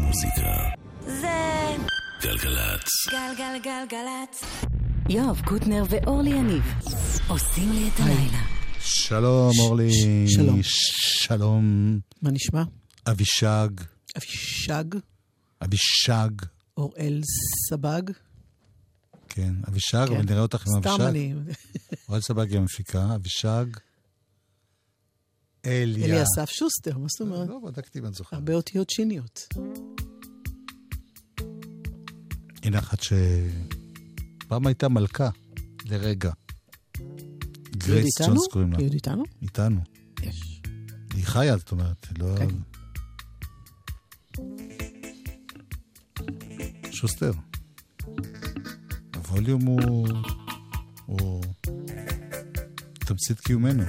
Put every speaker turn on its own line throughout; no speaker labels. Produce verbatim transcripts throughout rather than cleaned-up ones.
המוזיקה
זה
גלגלצ.
גלגלגלגלצ. יואב קוטנר ואורלי יניב עושים לי את הלילה.
שלום אורלי.
שלום.
שלום.
מה נשמע?
אבישג.
אבישג.
אבישג.
אוראל סבג.
כן, אבישג, אבל נראה אותך עם אבישג.
סתם אני.
אוראל סבג היא המפיקה, אבישג. אליה.
אליאסף שוסטר, מה זאת אומרת?
לא, בדקתי בן זוכר.
הרבה אותיות שיניות.
הנה אחת שפעם הייתה מלכה, לרגע. גרייס ג'ונס קוראים לה.
היא עוד איתנו?
איתנו.
יש.
היא חיה, זאת אומרת. לא...
כן.
שוסטר. הווליום הוא... הוא... תמצית קיומנו.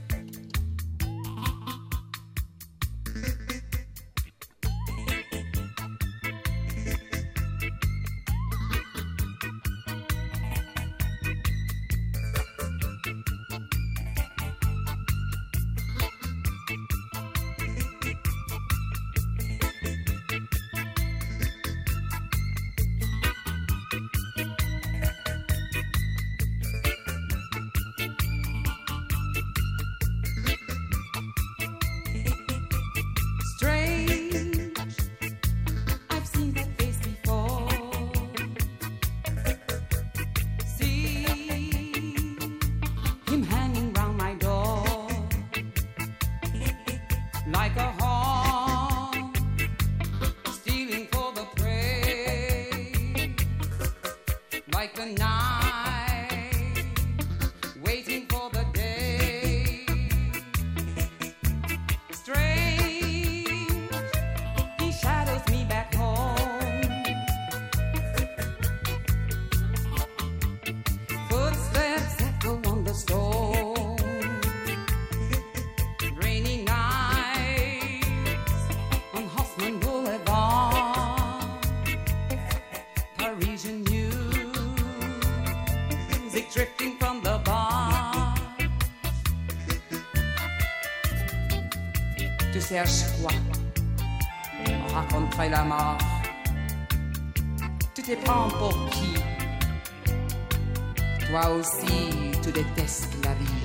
Cherche quoi? On raconterait la mort. Tu te prends pour qui? Toi aussi, tu détestes la vie.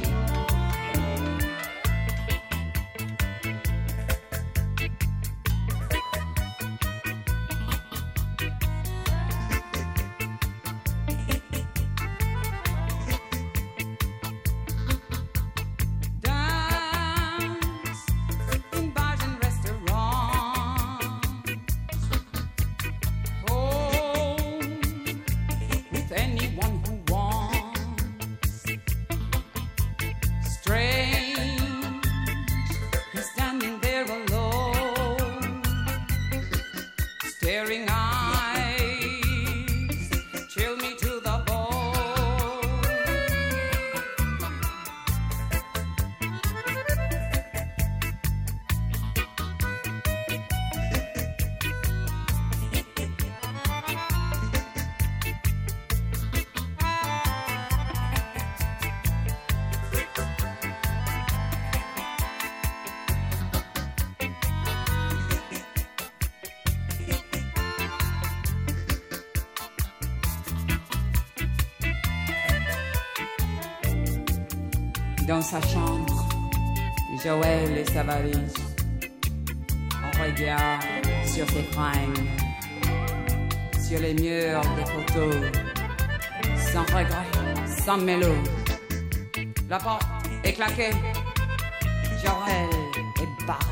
Dans sa chambre, Joël et sa valise. On regarde sur ses fringues, sur les murs des photos, sans regret, sans mélo. La porte est claquée, Joël est barré.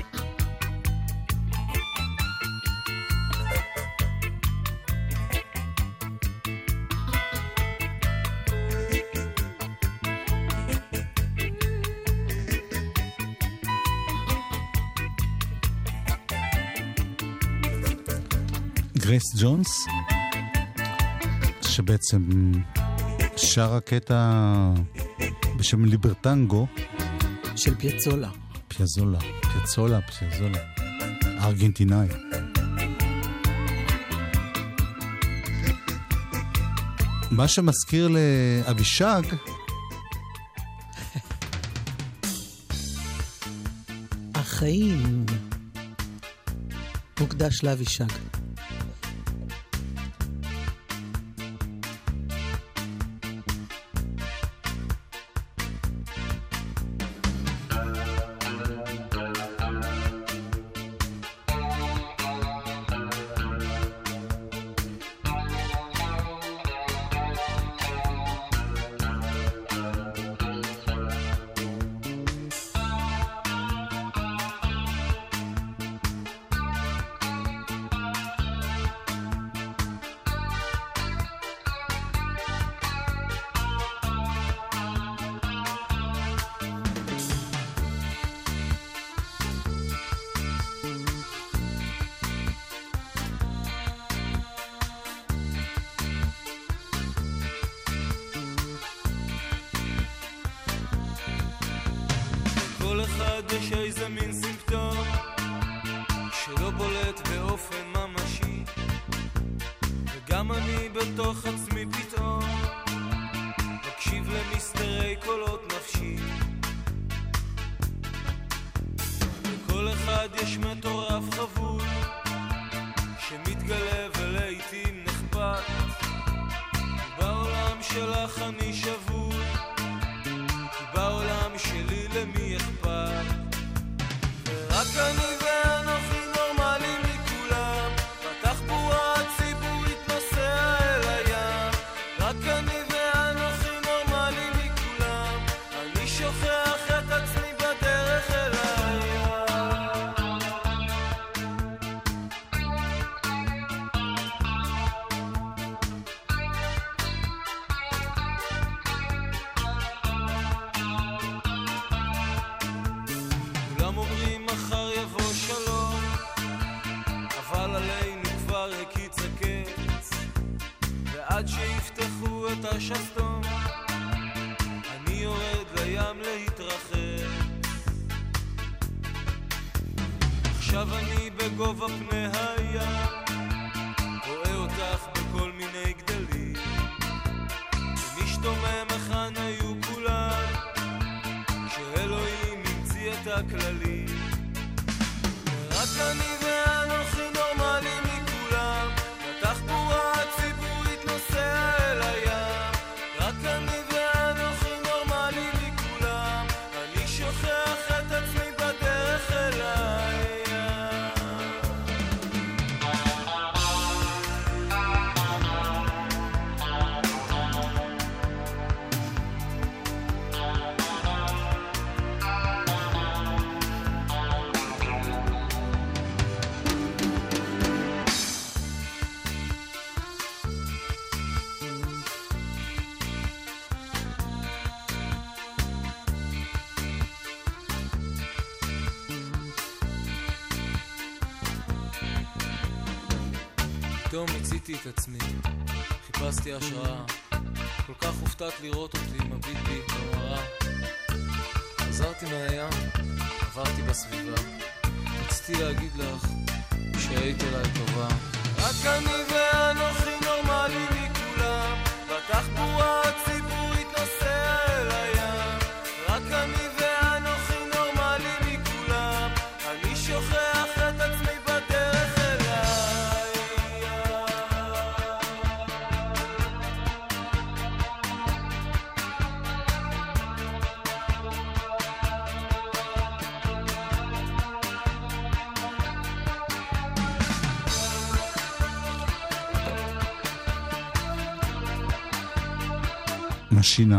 גרייס ג'ונס, שבעצם שרה קטע בשם ליברטנגו
של פיאצולה.
פיאזולה, פיאצולה, פיאזולה, ארגנטינאי. מה שמזכיר לאבישג
החיים מוקדש לאבישג.
כל אחד יש איזה מין סימפטום שלא בולט באופן ממשי, וגם אני בתוך עצמי פתאום מקשיב למסתרי קולות נפשי. לכל אחד יש מטורף חבוי שמתגלה ולעיתים נחבט, בעולם שלך אני שבוי, בעולם שלי למי אכפת, ורק אני ואנוכי נורמלים מכולם, בתחבורה הציבורית נוסע אל הים, רק אני ואנוכי נורמלים מכולם, אני שוכח את עצמי בדרך אל הים. עד שיפתחו את השסתום אני יורד לים להתרחב, עכשיו אני בגובה פני הים, רואה אותך בכל מיני גדלים, ומשתומם היכן היו כולם שאלוהים המציא את הכללים, ורק אני ואנוכי נורמלים מכולם, בתחבורה הציבורית נוסע אל הים, רק אני ואנוכי נורמלי מכולם, אני שוכח את עצמי בדרך אל הים. פתאום הציתי את עצמי, חיפשתי השראה, כל כך הופתעת לראות אותי מביט בי במראה, חזרתי מהים, עברתי בסביבה, רציתי להגיד לך שהיית אליי טובה, רק אני ואנוכי נורמלי מכולם, בתחבורה הציבורית נוסע אל הים, רק אני ואנוכי נורמלי מכולם, אני שוכח את עצמי בדרך אל הים.
משינה.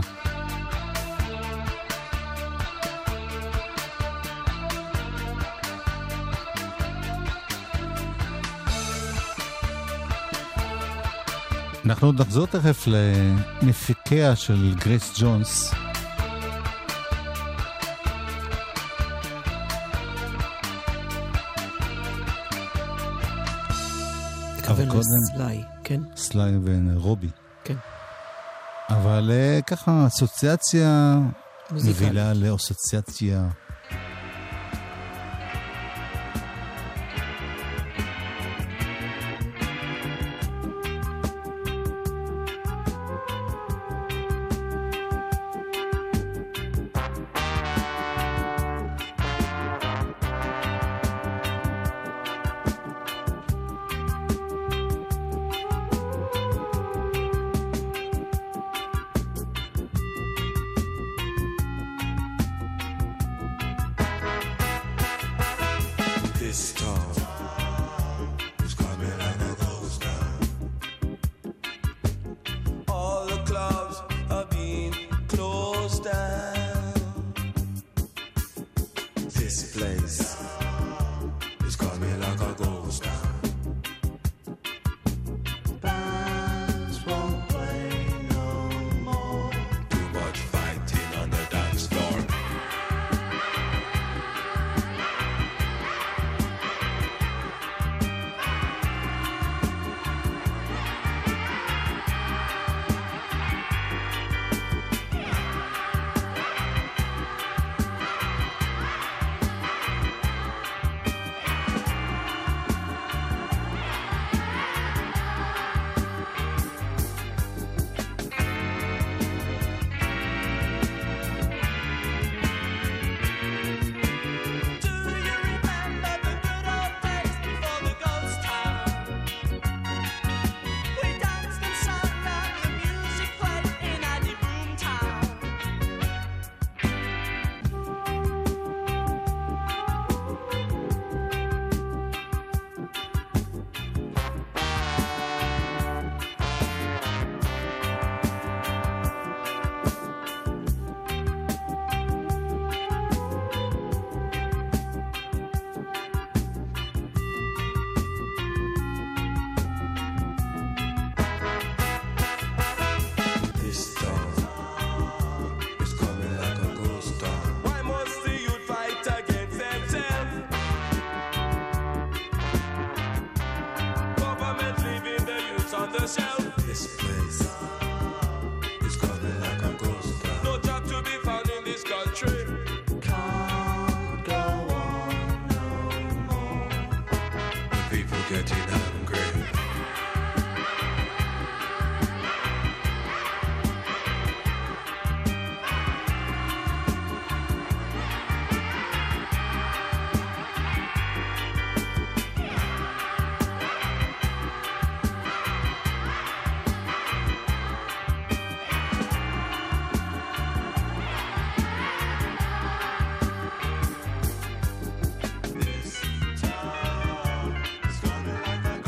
אנחנו עוד נחזור תכף למפיקיה של גרייס ג'ונס.
כוון לסליי, כן?
סליי ורובי.
כן.
אבל ככה אסוציאציה מובילה לאסוציאציה.
like a ghost town. Bands won't play no more. Too much fighting on the dance floor. It's gonna like a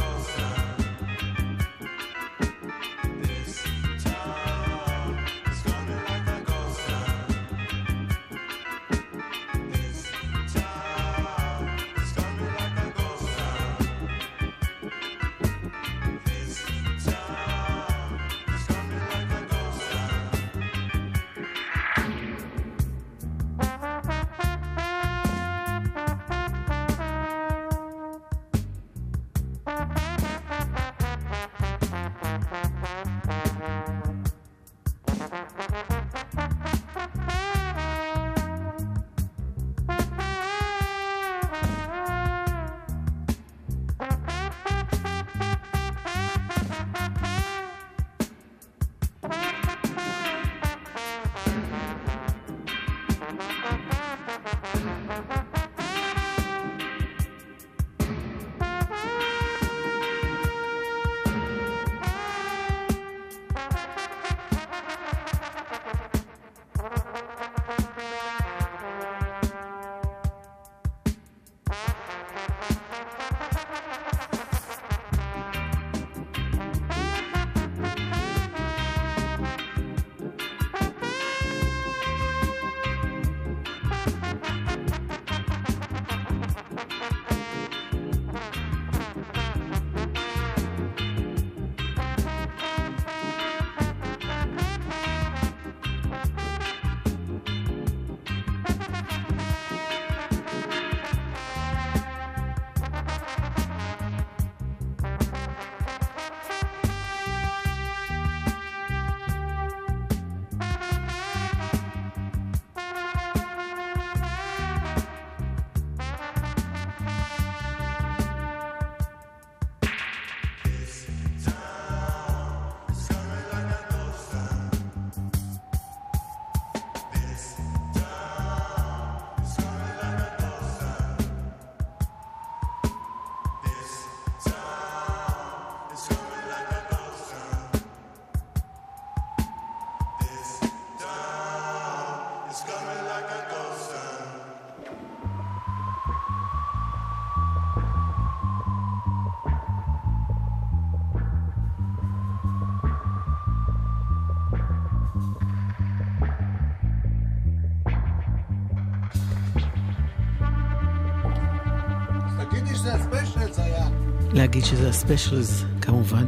להגיד שזה הספיישלס, כמובן.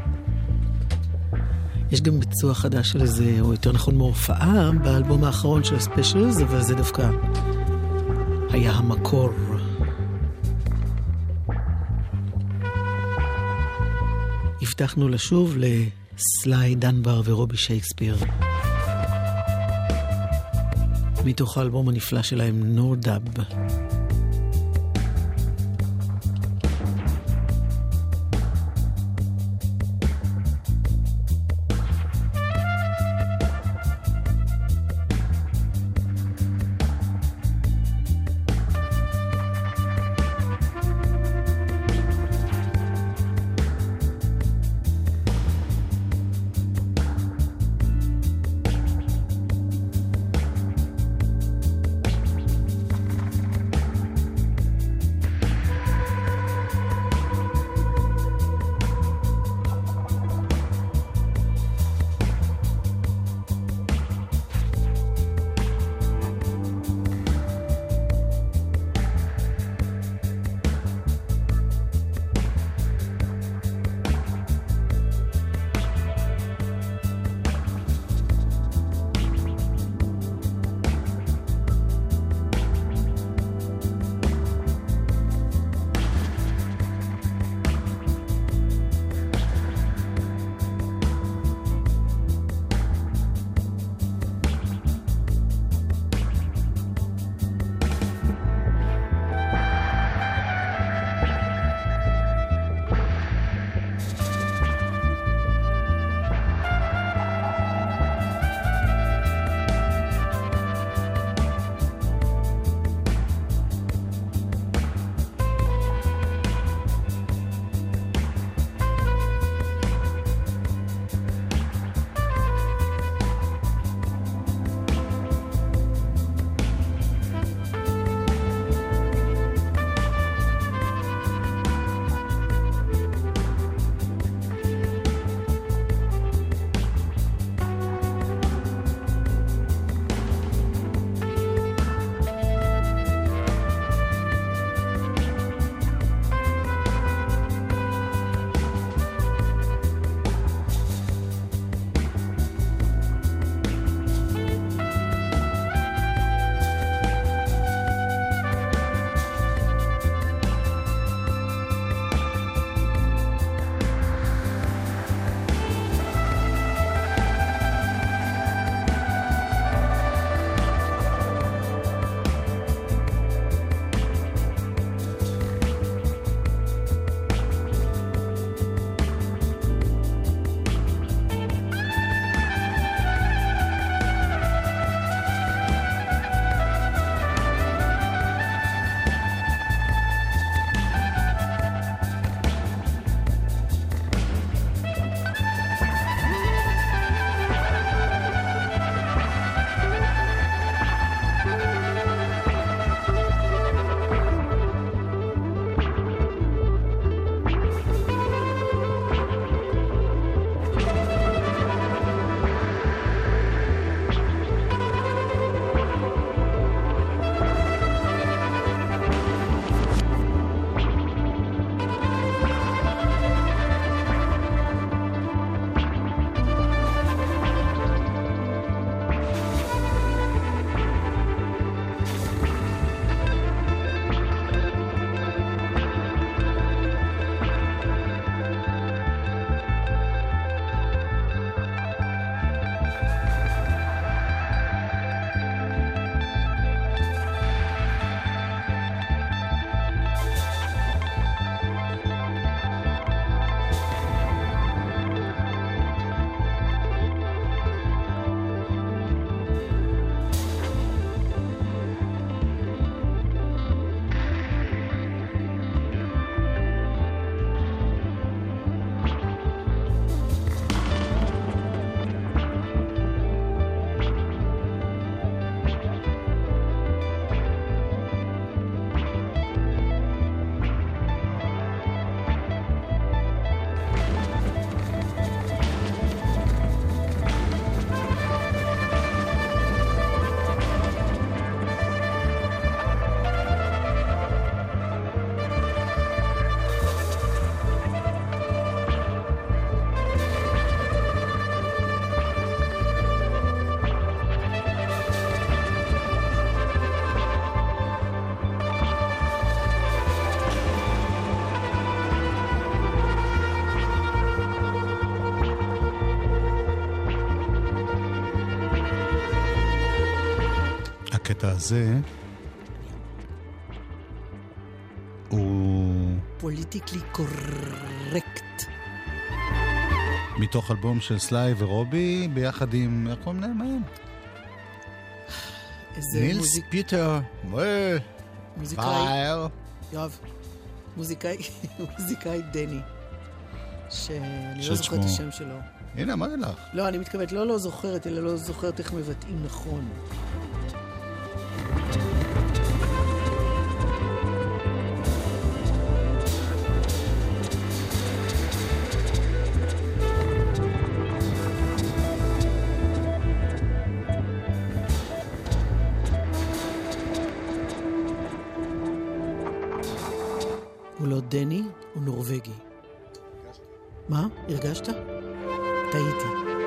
יש גם ביצוע חדש של איזה, או יותר נכון מהופעה, באלבום האחרון של הספיישלס, אבל זה דווקא היה המקור. הבטחנו לשוב לסליי דנבר ורובי שייקספיר. מתוך האלבום הנפלא שלהם, נורדאב.
הקטע הזה הוא
פוליטיקלי קורקט.
מתוך אלבום של סליי ורובי ביחד עם, איך קוראים להם מהם? נילס פיטר
מוזיקאי יואב מוזיקאי מוזיקאי דני שאני לא זוכרת את השם שלו.
הנה, אמרתי לך.
לא, אני מתכוונת, לא לא זוכרת, אלא לא זוכרת איך מבטאים נכון. הוא לא דני, הוא נורווגי. מה? הרגשת? טעיתי.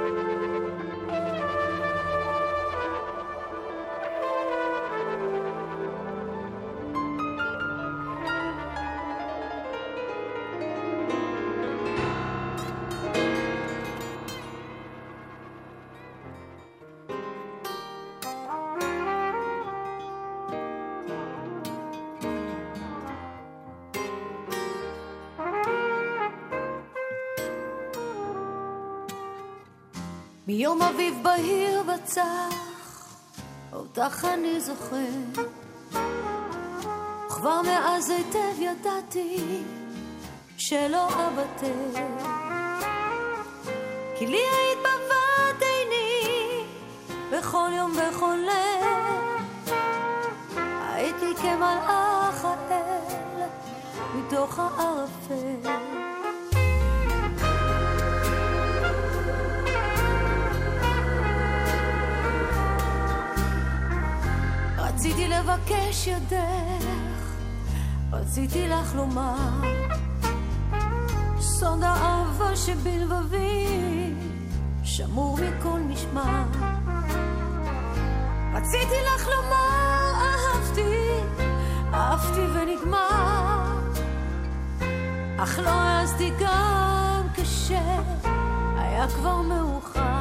מיום אביב בהיר בצח, אותך אני זוכר, כבר מאז היטב ידעתי שלא אבטר, כי לי היית בבת עיני בכל יום בכל ליל, הייתי כמלאך האל מתוך הערפל. רציתי לבקש ידך, רציתי לך לומר, סוד האהבה שבלבבי שמור מכל משמר. רציתי לך לומר, אהבתי, אהבתי ונגמר, אך לא העזתי גם כשהיה כבר מאוחר.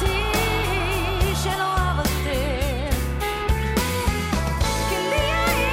כי לי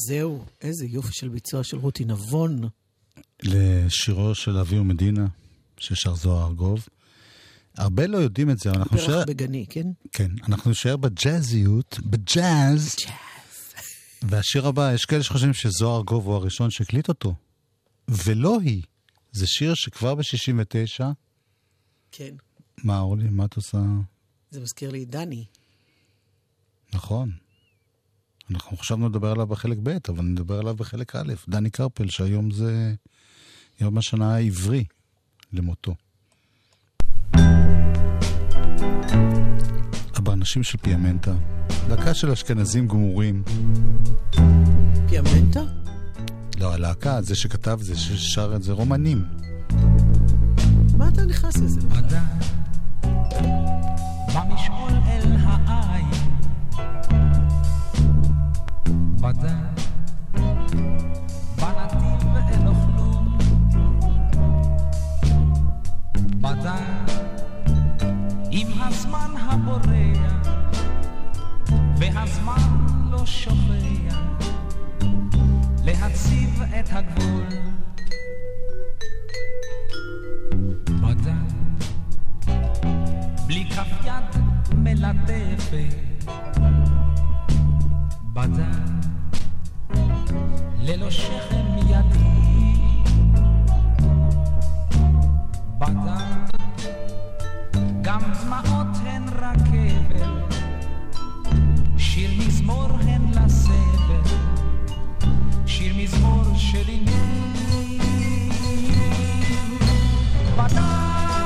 זהו, איזה יופי של ביצוע של רותי נבון.
לשירו של אבי ומדינה, ששר זוהר ארגוב. הרבה לא יודעים את זה, אבל אנחנו
פרח
נשאר...
בגני, כן?
כן, אנחנו נשאר בג'אזיות, בג'אז.
ג'אז.
והשיר הבא, יש כאלה שחושבים שזוהר ארגוב הוא הראשון שהקליט אותו. ולא היא. זה שיר שכבר ב-שישים ותשע...
כן.
מה, אורלי? מה את עושה?
זה מזכיר לי דני.
נכון. אנחנו חשבנו לדבר עליו בחלק ב', אבל נדבר עליו בחלק א'. דני קרפל, שהיום זה יום השנה העברי למותו. הבאנשים של פיאמנטה, להקה של אשכנזים גמורים.
פיאמנטה?
לא, הלהקה, זה שכתב זה, ששר את זה, רומנים.
מה אתה נכנס לזה?
עדה במשעול אל העין בדה בנתיב אל אוכלום בדה עם הזמן הבורח והזמן לא שוכח להציב את הגבול בדה בלי כף יד מלטפת בדה ללא שכם ידי בדה גם דמעות הן רכבל שיר מזמור הן לסבל שיר מזמור של עניין בדה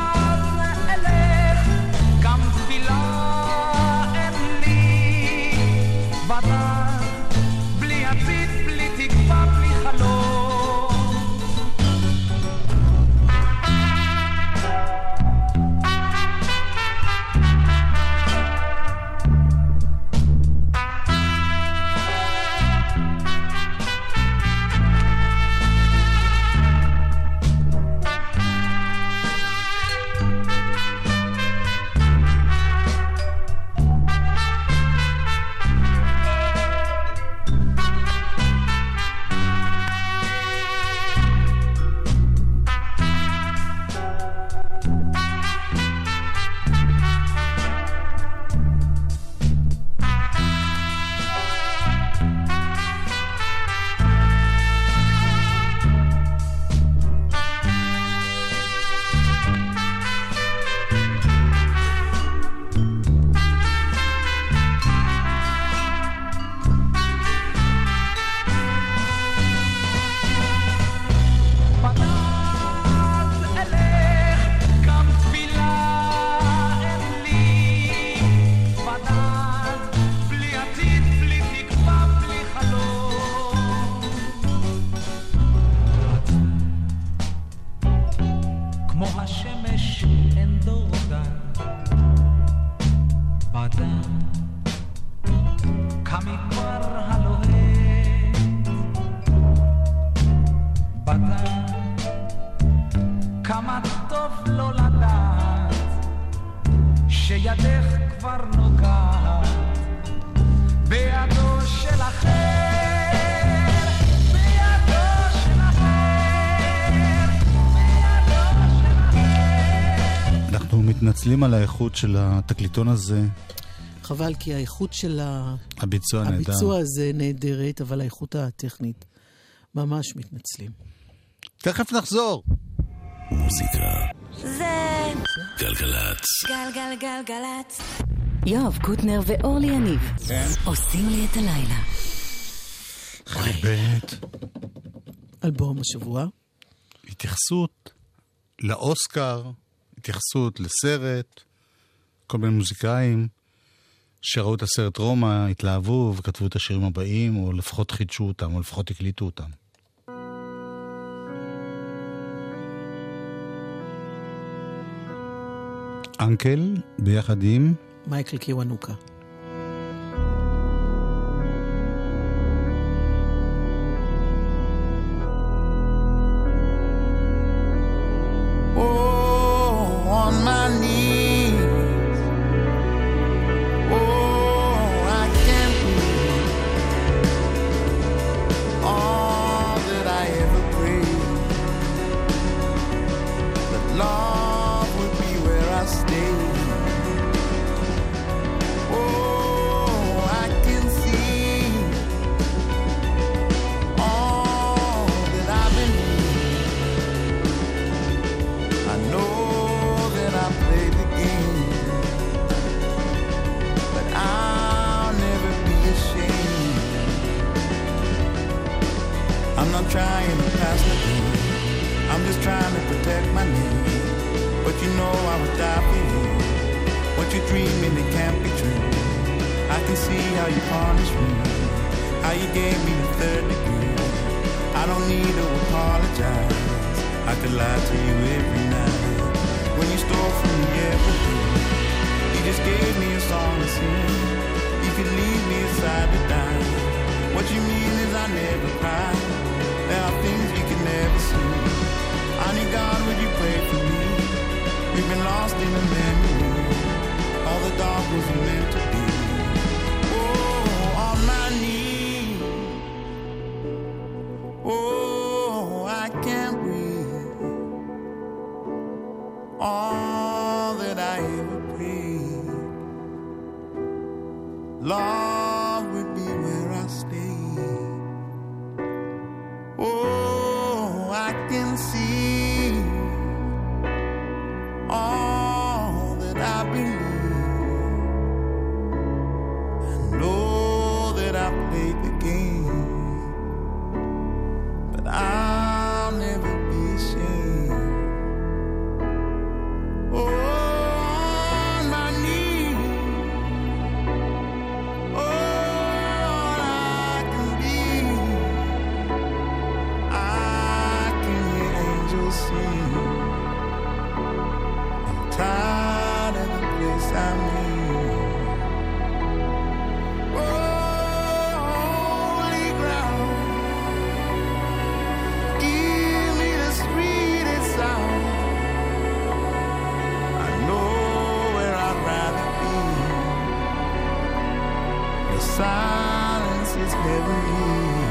מתנצלים על האיכות של התקליטון הזה.
חבל, כי האיכות של
הביצוע,
הביצוע הזה נהדרת, אבל האיכות הטכנית ממש מתנצלים.
תכף נחזור.
מוזיקה זה גלגלצ גלגלגלגלצ יואב קוטנר ואורלי יניב עושים לי את הלילה.
חלק ב'
אלבום השבוע,
התייחסות לאוסקר, התייחסות לסרט, כל מיני מוזיקאים שראו את הסרט רומא, התלהבו וכתבו את השירים הבאים, או לפחות חידשו אותם, או לפחות הקליטו אותם. אנקל ביחד עם
מייקל קיוונוקה.
I'm not trying to pass the game. I'm just trying to protect my name. But you know I would die for you. What you're dreaming, it can't be true. I can see how you punish me, how you gave me the third degree. I don't need to apologize. I could lie to you every night. When you stole from me every day, you just gave me a song to sing. You could leave me aside to die. What you mean is I never cry. There are things you can never see. Honey God, would you pray for me? We've been lost in a memory. All the dark wasn't meant to be. Oh, on my knees. Oh, I can't breathe. All that I ever prayed, love would be where I stay. Oh, I can see all that I believe. I know that I played the game, but I'll never be ashamed. Oh, on my knees. All I can be, I can hear angels sing. I'm tired of the place I'm in. Oh, holy ground, give me the sweetest sound. I know where I'd rather be. Your silence is heavenly.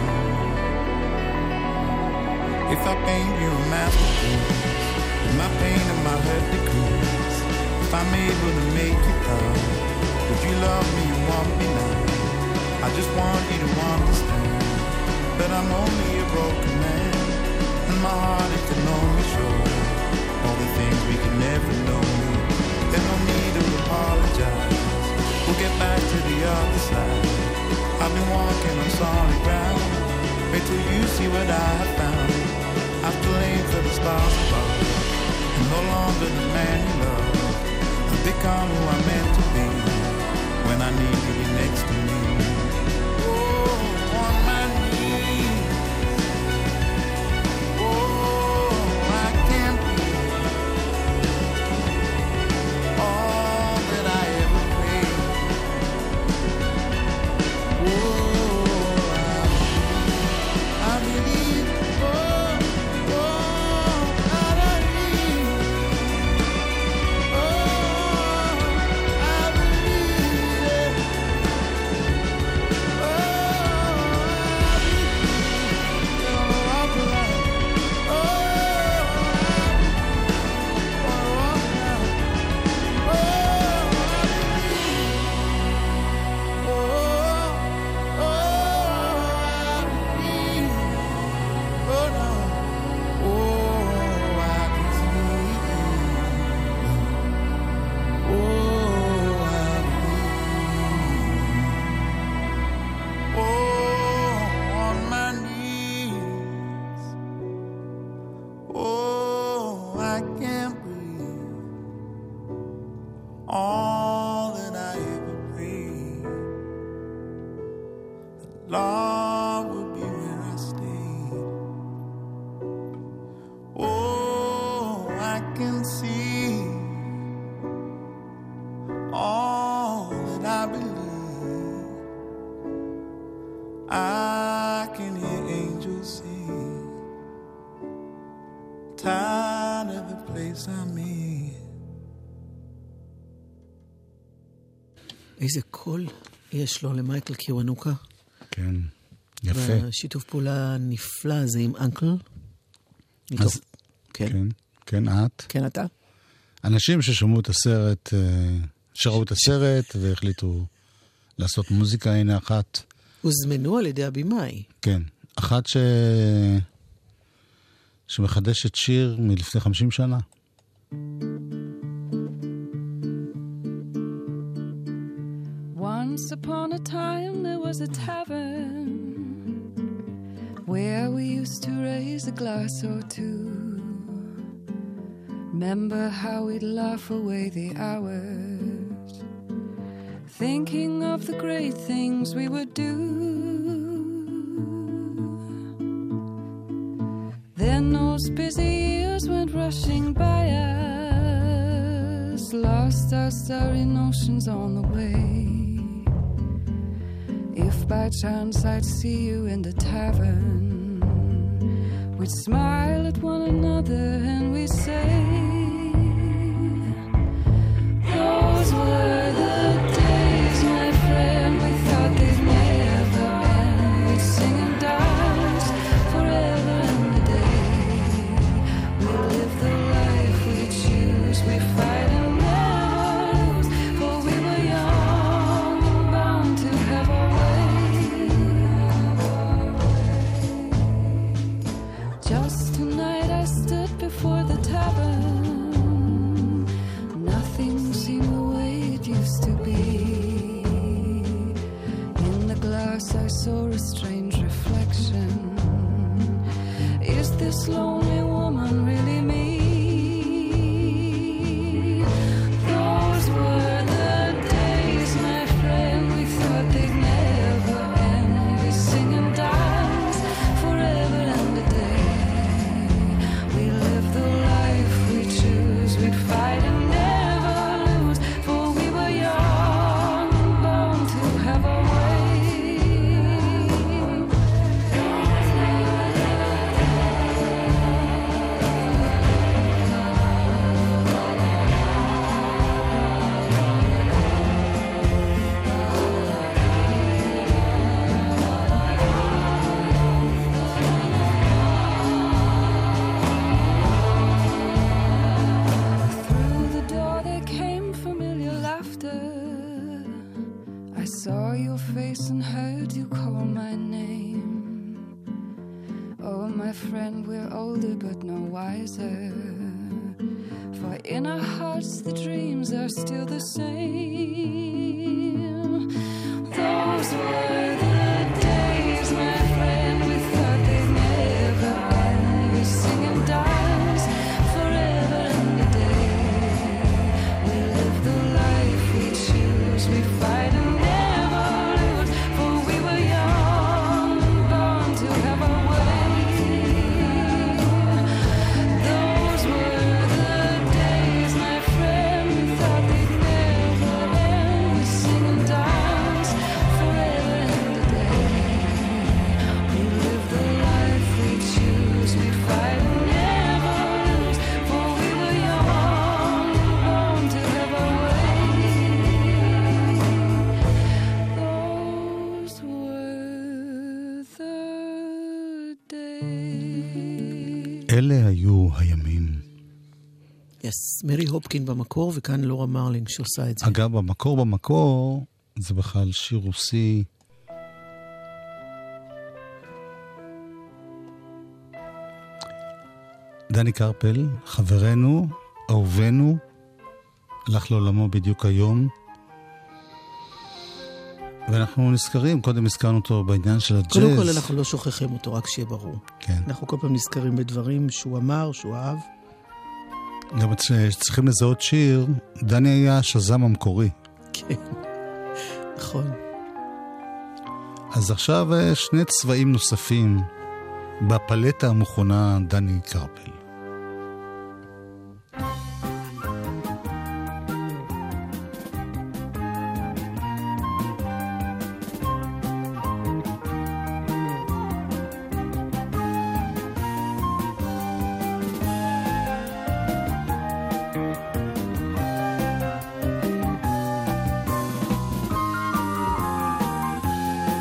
If I paint you a masterpiece, with my pain and my hurt decrease, if I'm able to make you proud, would you love me and want me now? I just want you to understand that I'm only a broken man, and my heart it can only show all the things we can never know. There's no need to apologize. We'll get back to the other side. I've been walking on solid ground. Wait till you see what I have found. I've played for the stars above. I'm no longer the man you love. I've become who I'm meant to be when I need you next to me. Oh, on my knees. Oh, I can't breathe. All that I ever prayed. Oh, I, I believe. Oh, oh, I believe. Oh, I believe. Oh, I believe. I'll walk around. Oh, I'll walk around. Oh, I believe. Oh, oh, I believe. Oh, no. Oh, I can see. Oh, I believe. Oh, on my knees. Oh, I can't breathe. All that I ever prayed, that love would be where I stayed. Oh, I can see all that I believe. I can hear angels sing. Tired of the place I'm in.
איזה קול יש לו למייקל קיוונוקה.
כן, יפה.
והשיתוף פעולה נפלא הזה עם אנקל.
אז,
כן.
כן, כן, את.
כן, אתה?
אנשים ששמעו את הסרט, אה, שראו את הסרט והחליטו לעשות מוזיקה, הנה אחת.
הוזמנו על ידי הבימאי.
כן, אחת ש... שמחדשת שיר מלפני חמישים שנה.
Once upon a time there was a tavern where we used to raise a glass or two. Remember how we'd laugh away the hours, thinking of the great things we would do. Then those busy years went rushing by us, lost our starry notions on the way. If by chance I'd see you in the tavern, we'd smile at one another and we'd say, those were the days, my friend, we thought they'd never end. We'd sing and dance forever and a day. We live the life we choose, we fight and never lose, for we were young and bound to have our way. Just tonight I stood before the tavern. Nothing seemed the way it used to be. In the glass I saw a strange reflection. Is this lonely woman really me? Those were the days, my friend, we thought they'd never end. We sing and dance forever and a day. We live the life we choose, we'd fight and never lose, for we were young and bound to have our way. Through the door there came familiar laughter. I saw your face and heard you call my name. Oh, my friend, we're older but no wiser, for in our hearts the dreams are still the same. Those were the days, my friend, we thought they'd never end. We sing and dance forever and a day. We live the life we choose, we fight and never lose, for we were young and bound to have our way. Those were the days, my friend, we thought they'd never end. We sing and dance forever and a day. We live the life we choose, we fight and never lose, for we were young and bound to have our way. Those were the days.
אלה היו הימים.
יס, מרי הופקין במקור, וכאן לורה מרלינג שעושה את זה.
אגב, במקור במקור, זה בכלל שיר רוסי. דני קרפל, חברנו, אהובנו, הלך לעולמו בדיוק היום. ואנחנו נזכרים, קודם הזכרנו אותו בעניין של הג'אז.
קודם כל אנחנו לא שוכחים אותו, רק שיהיה ברור.
כן.
אנחנו כל פעם נזכרים בדברים שהוא אמר, שהוא אהב.
גם צריכים לזהות שיר, דני היה השזם המקורי.
כן, נכון.
אז עכשיו שני צבעים נוספים בפלטה המוכנה דני קרפל.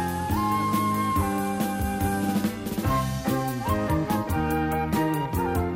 Thank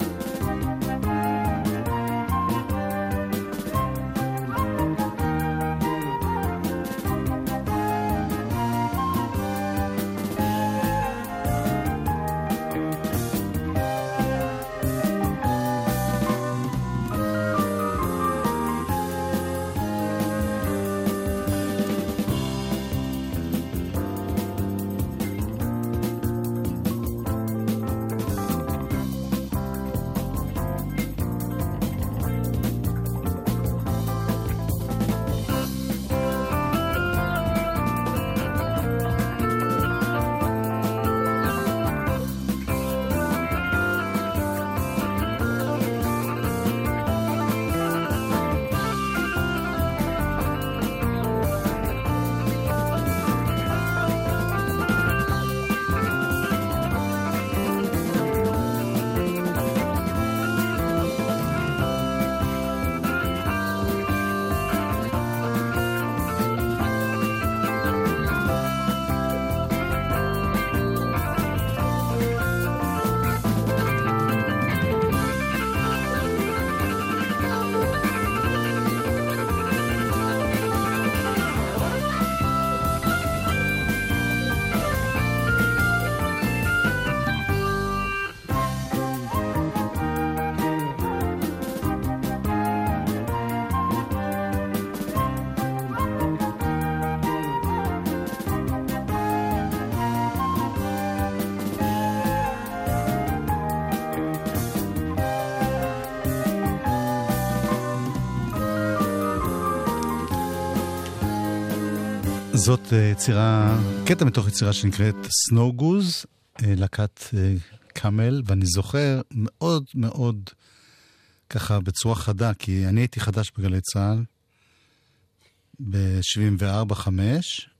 זאת יצירה, קטע מתוך יצירה שנקראת Snow Goose, להקת קאמל, ואני זוכר מאוד מאוד ככה בצורה חדה, כי אני הייתי חדש בגלי צהל ב-שבעים וארבע חמש,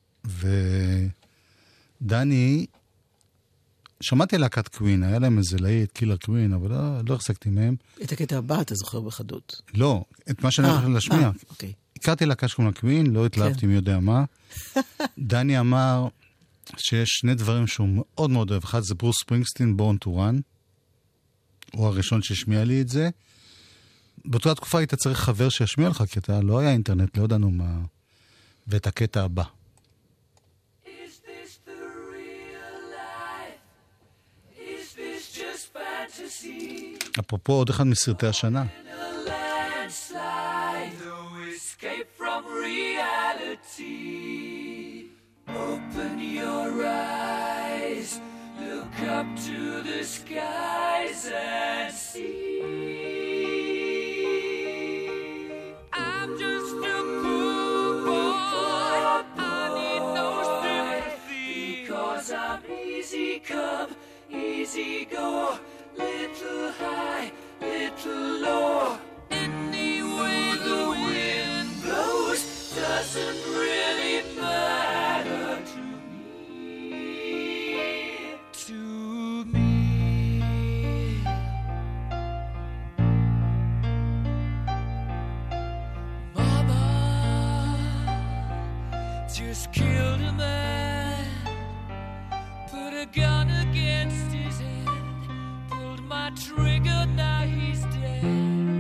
ודני, שמעתי על להקת קווין, היה להם איזה להיט, קילר קווין, אבל לא, לא החזקתי מהם.
את הקטע הבא אתה זוכר בחדות.
לא, את מה שאני הולך להשמיע.
אה, אוקיי.
הכרתי להקה שקוראים לה קווין, לא התלהבתי מי יודע מה. דני אמר שיש שני דברים שהוא מאוד מאוד אוהב. אחד זה ברוס ספרינגסטין, Born to Run. הוא הראשון שהשמיע לי את זה. באותה תקופה היית צריך חבר שישמיע לך קטע, לא היה אינטרנט, לא ידענו מה. ואת הקטע הבא. אפרופו עוד אחד מסרטי השנה.
Escape from reality. Open your eyes, look up to the skies and see. I'm just a poor boy, I need no sympathy. Because I'm easy come, easy go, little high, little low. Anyway the wind blows doesn't really matter to me, to me. Mama just killed a man, put a gun against his head, pulled my trigger, now he's dead.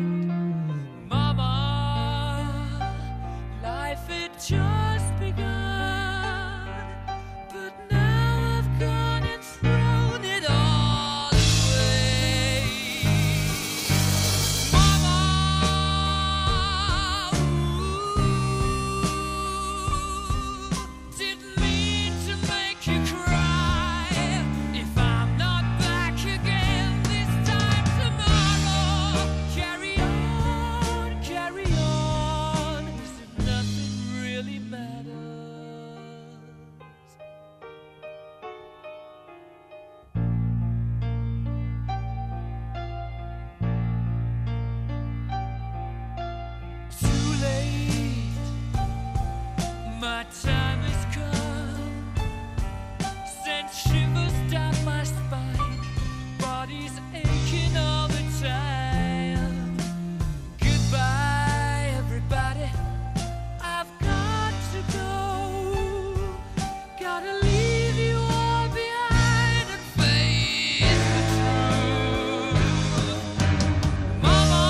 Just begun, but now I've gone and thrown it all away. Mama, ooh, didn't mean to make you cry. If I'm not back again this time tomorrow, carry on, carry on. Is it nothing really matters? Too late, my time has come, sent shivers down my spine, body's aching all the time. Goodbye, everybody, I've got to go, gotta leave you all behind and face the truth. Mama,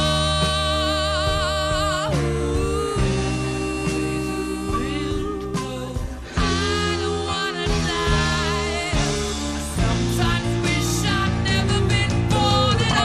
ooh, wind blow, I don't wanna die. I sometimes wish I'd never been born at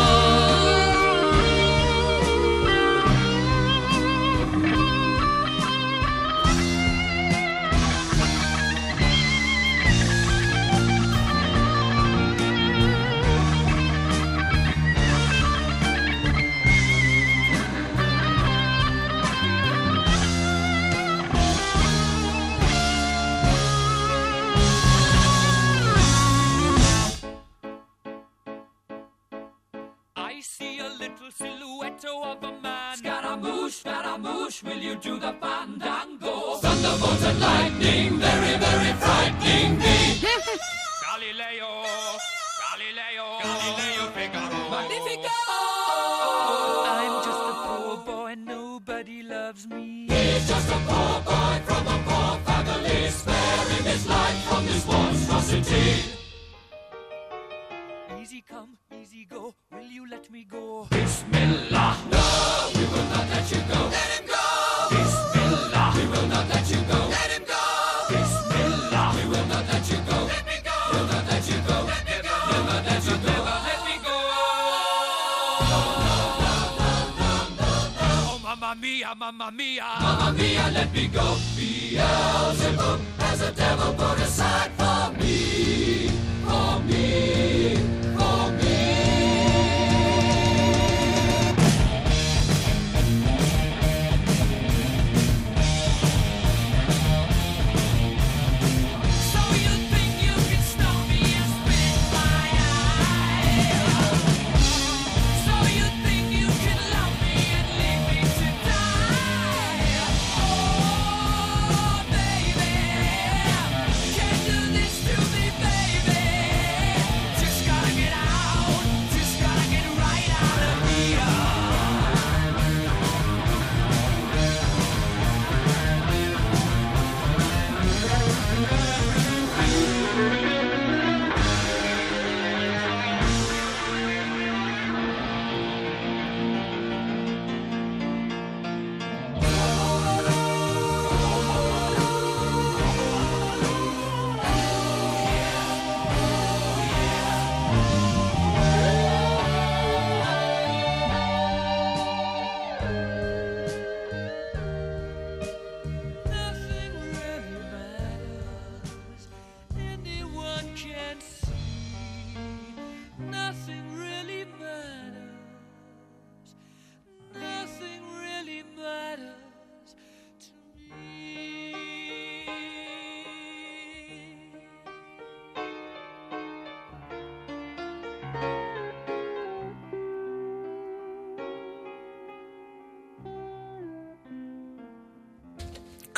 I see a little silhouette of a man. Scaramouche, Scaramouche, will you do the fandango? Thunderbolts and lightning, very, very frightening me. Galileo, Galileo, Galileo Figaro. Magnifico! I'm just a poor boy, nobody loves me. He's just a poor boy from a poor family, sparing his life from this monstrosity. Easy come, easy go, will you let me go? Bismillah, no, we will not let you go. Let him go! Bismillah, we will not let you go. Let him go! Bismillah, we will not let you go. Let me go! We'll not let you go. Let me go! We'll not let you go. Never let me go! No, no, no, no, no, no, no. Oh, mamma mia, mamma mia, mamma mia, let me go. Beelzebub has a devil put aside for me, for me, for me.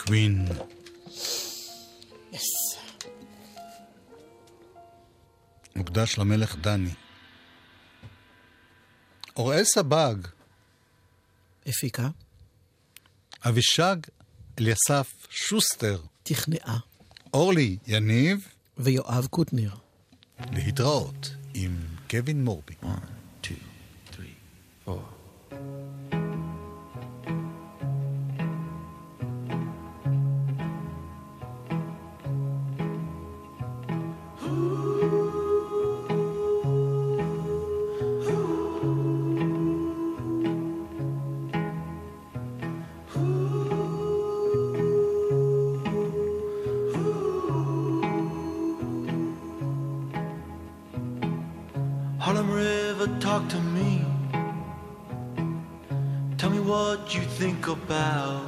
קווין.
יס.
מוקדש למלך דני. אוראל סבג.
הפיקה.
אבישג אליסף שוסטר.
תכנעה.
אורלי יניב.
ויואב קוטנר.
להתראות עם קווין מורבי.
One, two, three, four. Harlem River, talk to me. Tell me what you think about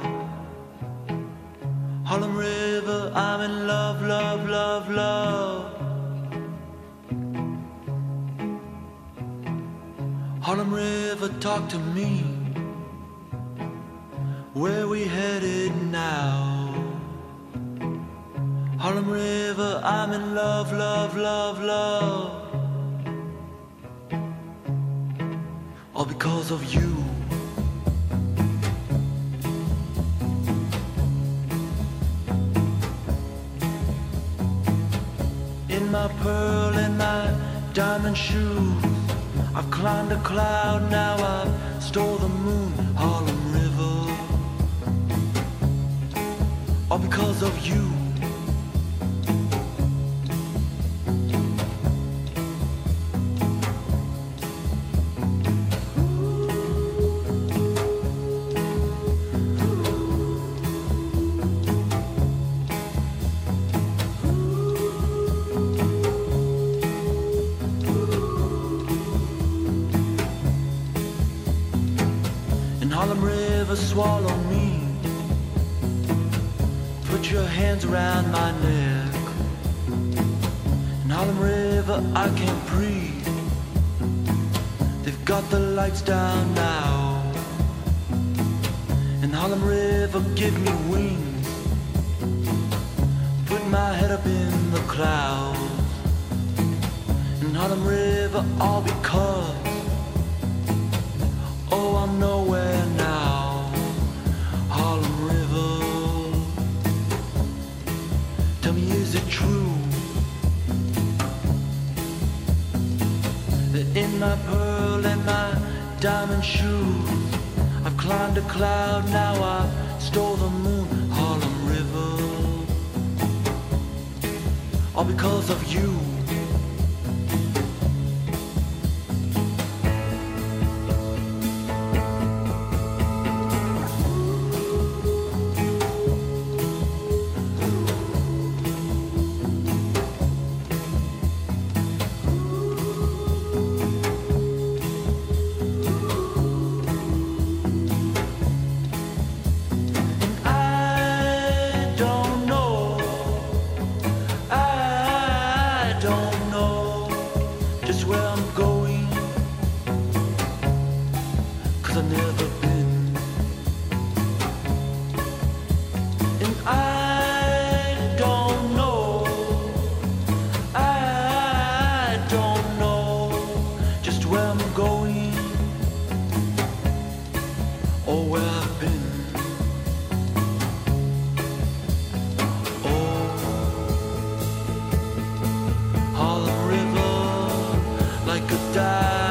Harlem River. I'm in love, love, love, love. Harlem River, talk to me. Where we headed now? Harlem River, I'm in love, love, love, love. All because of you. In my pearl and my diamond shoes, I've climbed a cloud, now I've stole the moon. Harlem River, all because of you. Harlem River, swallow me. Put your hands around my neck. In Harlem River, I can't breathe. They've got the lights down now. In Harlem River, give me wings. Put my head up in the clouds. In Harlem River, all because oh, I'm nowhere now. Harlem River, tell me, is it true that in my pearl and my diamond shoes I've climbed a cloud, now I stole the moon? Harlem River, all because of you. Die.